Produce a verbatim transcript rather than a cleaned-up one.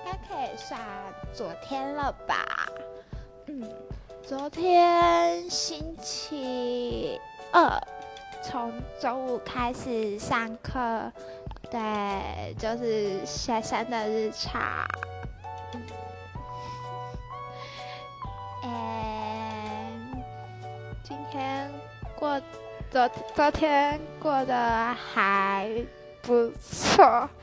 该可以算昨天了吧？嗯，昨天星期二，从中午开始上课，对，就是学生的日常。嗯，今天过昨昨天过得还不错。